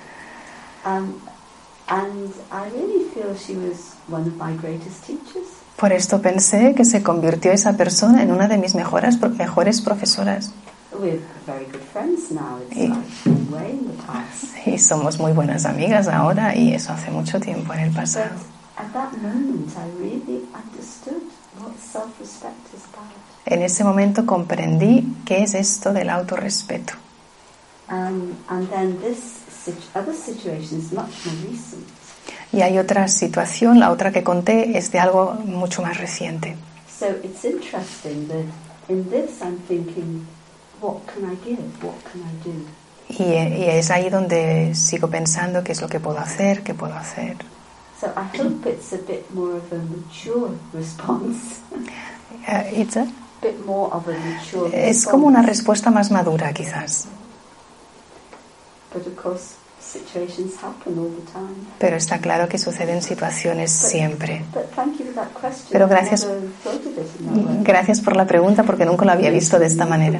And I really feel she was one of my greatest teachers. Por esto pensé que se convirtió esa persona en una de mis mejores profesoras. We're very good friends now. It's like way in the past. Y somos muy buenas amigas ahora y eso hace mucho tiempo en el pasado. But at that moment I really understood what self-respect is about. En ese momento comprendí qué es esto del autorrespeto. And then this other situation is much more recent. Y hay otra situación, la otra que conté es de algo mucho más reciente. So it's interesting that in this I'm thinking, what can I give? What can I do? Y es ahí donde sigo pensando qué es lo que puedo hacer, qué puedo hacer. So I hope it's a bit more of a mature response. It's a Bit more of a mature response. Es como una respuesta más madura, quizás. But of course, situations happen all the time. Pero está claro que suceden situaciones siempre. But thank you for that question. Pero gracias, I never thought of it in that way. gracias por la pregunta porque nunca lo había visto de esta manera.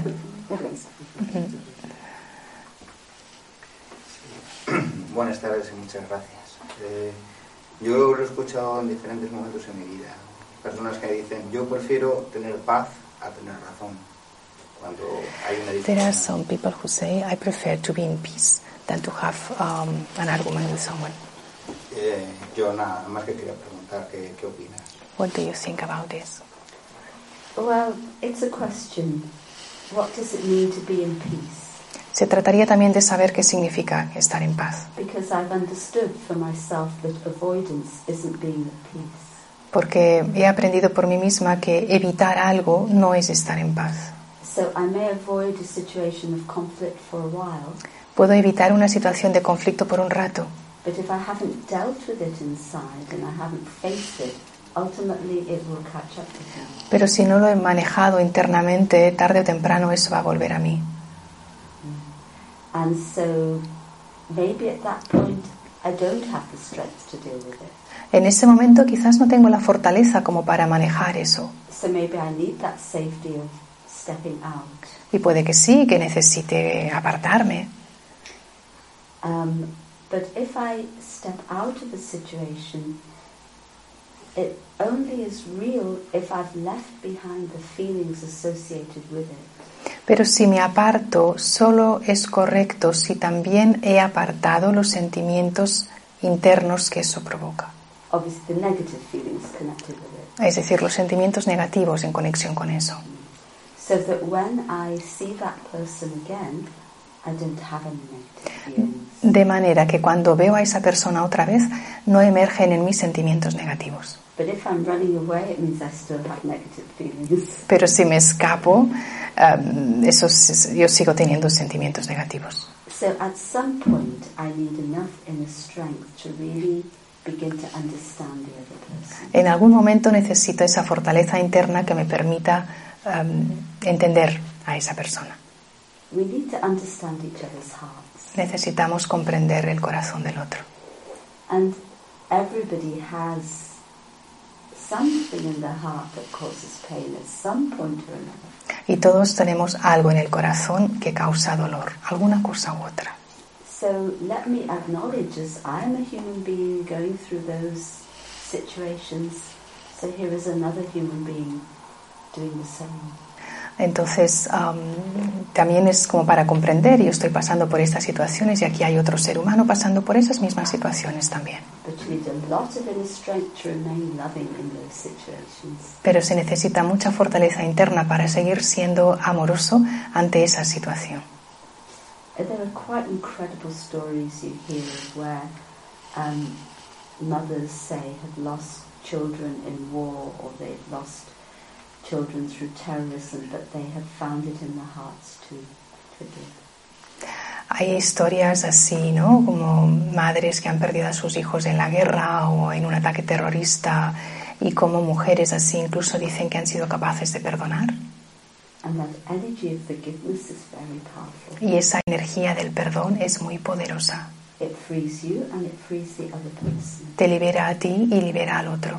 Buenas tardes y muchas gracias. Yo lo he escuchado en diferentes momentos en mi vida. Personas que dicen, yo prefiero tener paz a tener razón. Cuando hay una There are discusión. some people who say, I prefer to be in peace than to have an argument with someone. Yo nada más que quería preguntar qué opinas. What do you think about this? Well, it's a question. What does it mean to be in peace? Se trataría también de saber qué significa estar en paz. Because I've understood for myself that avoidance isn't being at peace. Porque he aprendido por mí misma que evitar algo no es estar en paz. So I may avoid a situation of conflict for a while, Puedo evitar una situación de conflicto por un rato, but if I haven't dealt with it inside and I haven't faced it, ultimately it will catch up with me. pero si no lo he manejado internamente, tarde o temprano eso va a volver a mí. And so maybe at that point I don't have the strength to deal with it. En ese momento quizás no tengo la fortaleza como para manejar eso. So maybe I need that safety of stepping out. Y puede que sí, que necesite apartarme. But if I step out of a situation, it only is real if I've left behind the feelings associated with it. Pero si me aparto, solo es correcto si también he apartado los sentimientos internos que eso provoca. Obviously, the negative feelings connected with it. Es decir, los sentimientos negativos en conexión con eso. So that when I see that person again, I don't have any negative feelings. De manera que cuando veo a esa persona otra vez, no emergen en mí sentimientos negativos. But if I'm running away, it means I still have negative feelings. Pero si me escapo, yo sigo teniendo sentimientos negativos. So at some point I need enough inner strength to really begin to understand the other person. En algún momento necesito esa fortaleza interna que me permita entender a esa persona. We need to understand each other's hearts. Necesitamos comprender el corazón del otro. And everybody has something in their heart that causes pain at some point or another. Y todos tenemos algo en el corazón que causa dolor, alguna cosa u otra. So let me acknowledge as I am a human being going through those situations. So here is another human being doing the same. Entonces, también es como para comprender, yo estoy pasando por estas situaciones y aquí hay otro ser humano pasando por esas mismas situaciones también. Pero se necesita mucha fortaleza interna para seguir siendo amoroso ante esa situación. There are quite incredible stories you hear where mothers say have lost children in war or they've lost children through terrorism, but they have found it in their hearts to forgive. Hay historias así, ¿no? Como madres que han perdido a sus hijos en la guerra o en un ataque terrorista y como mujeres así incluso dicen que han sido capaces de perdonar. And that energy of forgiveness is very powerful. Y esa energía del perdón es muy poderosa. It frees you and it frees the other person. Te libera a ti y libera al otro.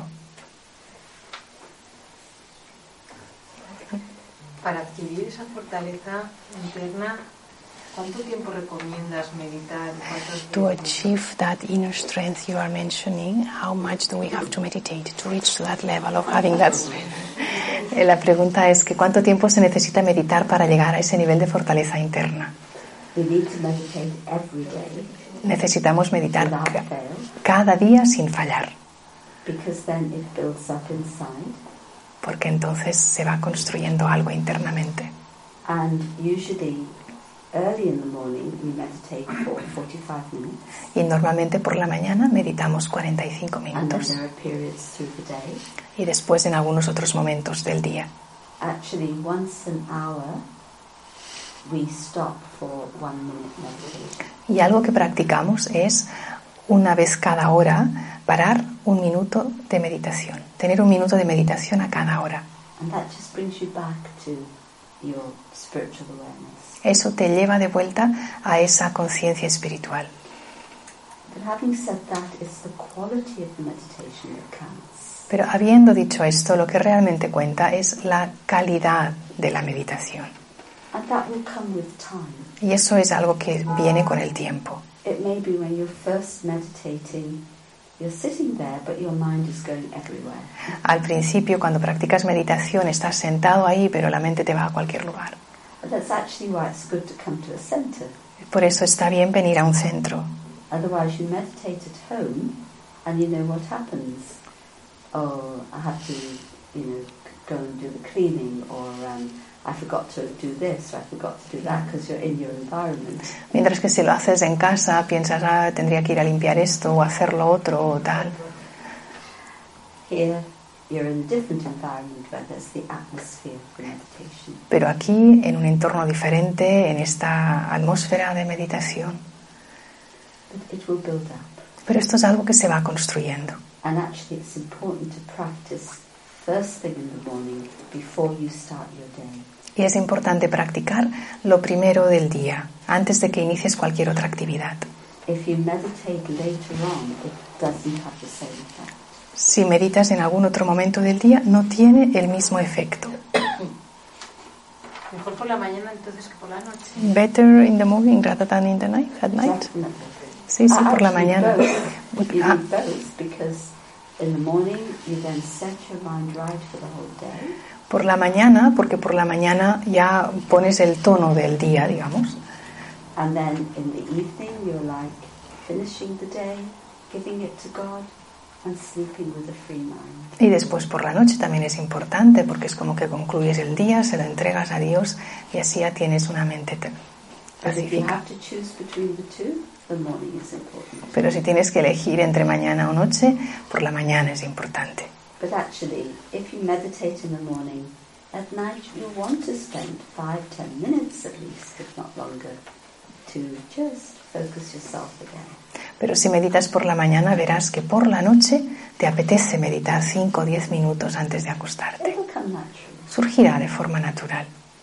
Para adquirir esa fortaleza interna, ¿cuánto tiempo recomiendas meditar? To achieve that inner strength you are mentioning, how much do we have to meditate to reach that level of having that strength? La pregunta es que ¿cuánto tiempo se necesita meditar para llegar a ese nivel de fortaleza interna? We need to meditate every day. Necesitamos meditar cada día sin fallar. Because then it builds up inside. Porque entonces se va construyendo algo internamente. And usually early in the morning we meditate for 45 minutes. Y normalmente por la mañana meditamos 45 minutos. And then there are periods through the day. Y después en algunos otros momentos del día. Actually, once an hour we stop for 1 minute meditation. Y algo que practicamos es una vez cada hora parar 1 minuto de meditación, tener 1 minuto de meditación a cada hora. And that just brings you back to your spiritual awareness. Eso te lleva de vuelta a esa conciencia espiritual. But having said that, it's the quality of the meditation that counts. Pero habiendo dicho esto, lo que realmente cuenta es la calidad de la meditación. And that will come with time. Y eso es algo que viene con el tiempo. It may be when you're first meditating, you're sitting there, but your mind is going everywhere. Al principio, cuando practicas meditación, estás sentado ahí, pero la mente te va a cualquier lugar. But that's actually why it's good to come to a center. Por eso está bien venir a un centro. Otherwise, you meditate at home, and you know what happens. Oh, I have to, go and do the cleaning, or I forgot to do this, or I forgot to do that, because you're in your environment. Mientras que si lo haces en casa, piensas, tendría que ir a limpiar esto, o hacer lo otro, o tal. Here, you're in a different environment where there's the atmosphere for meditation. Pero aquí, en un entorno diferente, en esta atmósfera de meditación. But it will build up. Pero esto es algo que se va construyendo. And actually it's important to practice first thing in the morning before you start your day. Y es importante practicar lo primero del día, antes de que inicies cualquier otra actividad. If you meditate later on, it doesn't have the same effect. Si meditas en algún otro momento del día, no tiene el mismo efecto. Mejor por la mañana entonces que por la noche. Better in the morning rather than in the night, at night. Definitely. Sí, por la mañana. You need both because in the morning you then set your mind right for the whole day. Por la mañana, porque por la mañana ya pones el tono del día, digamos. And then in the evening you're like finishing the day, giving it to God and sleeping with a free mind. Y después por la noche también es importante porque es como que concluyes el día, se lo entregas a Dios y así ya tienes una mente pacífica. Pero si tienes que elegir entre mañana o noche, por la mañana es importante. But actually, if you meditate in the morning, at night you want to spend 5-10 minutes at least, if not longer, to just focus yourself again. Pero si meditas por la mañana, verás que por la noche te apetece meditar 5 o 10 minutos antes de acostarte. It'll come naturally. Surgirá de forma natural.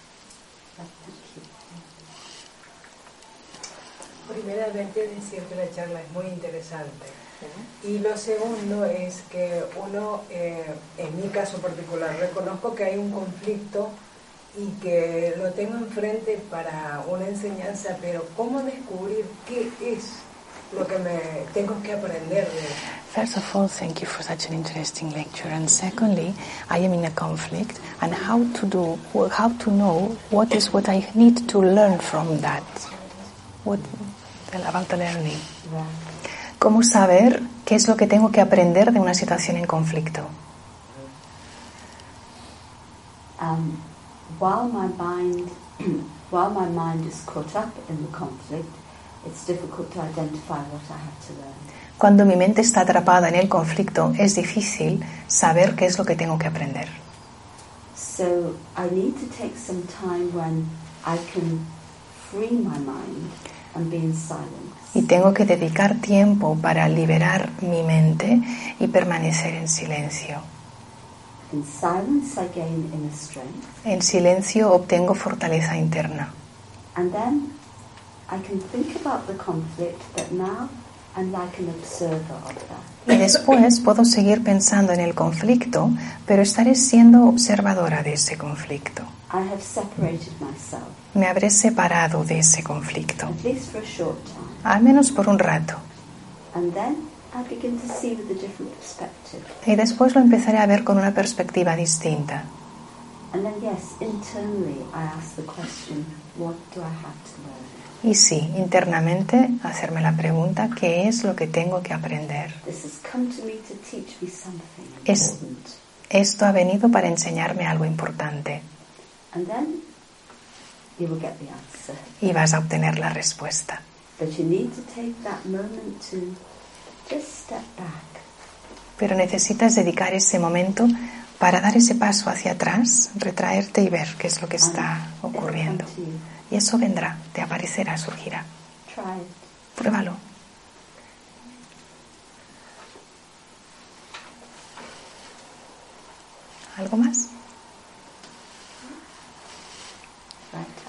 Primeramente decir que la charla es muy interesante. Y lo segundo es que uno, en mi caso particular, reconozco que hay un conflicto y que lo tengo enfrente para una enseñanza, pero ¿cómo descubrir qué es lo que me tengo que aprender de eso? First of all, thank you for such an interesting lecture. And secondly, I am in a conflict, and how to know what is what I need to learn from that. About the learning. ¿Cómo saber qué es lo que tengo que aprender de una situación en conflicto? While my mind is caught up in the conflict, it's difficult to identify what I have to learn. Cuando mi mente está atrapada en el conflicto, es difícil saber qué es lo que tengo que aprender. So I need to take some time when I can free my mind and be in silence. Y tengo que dedicar tiempo para liberar mi mente y permanecer en silencio. In silence I gain inner strength. En silencio obtengo fortaleza interna. And then I can think about the conflict, but now I'm like an observer of that. Y después puedo seguir pensando en el conflicto, pero estaré siendo observadora de ese conflicto. I have separated myself. Me habré separado de ese conflicto, At least for a short time. al menos por un rato. And then I begin to see with a different perspective. Y después lo empezaré a ver con una perspectiva distinta. And then yes, internally I ask the question, what do I have to learn? Y sí, internamente hacerme la pregunta, ¿qué es lo que tengo que aprender? This has come to me to teach me something important. Esto ha venido para enseñarme algo importante. And then you will get the answer. Y vas a obtener la respuesta. But you need to take that moment to just step back. Pero necesitas dedicar ese momento para dar ese paso hacia atrás, retraerte y ver qué es lo que está ocurriendo. Y eso vendrá, te aparecerá, surgirá. Try it. Pruébalo. ¿Algo más? Right.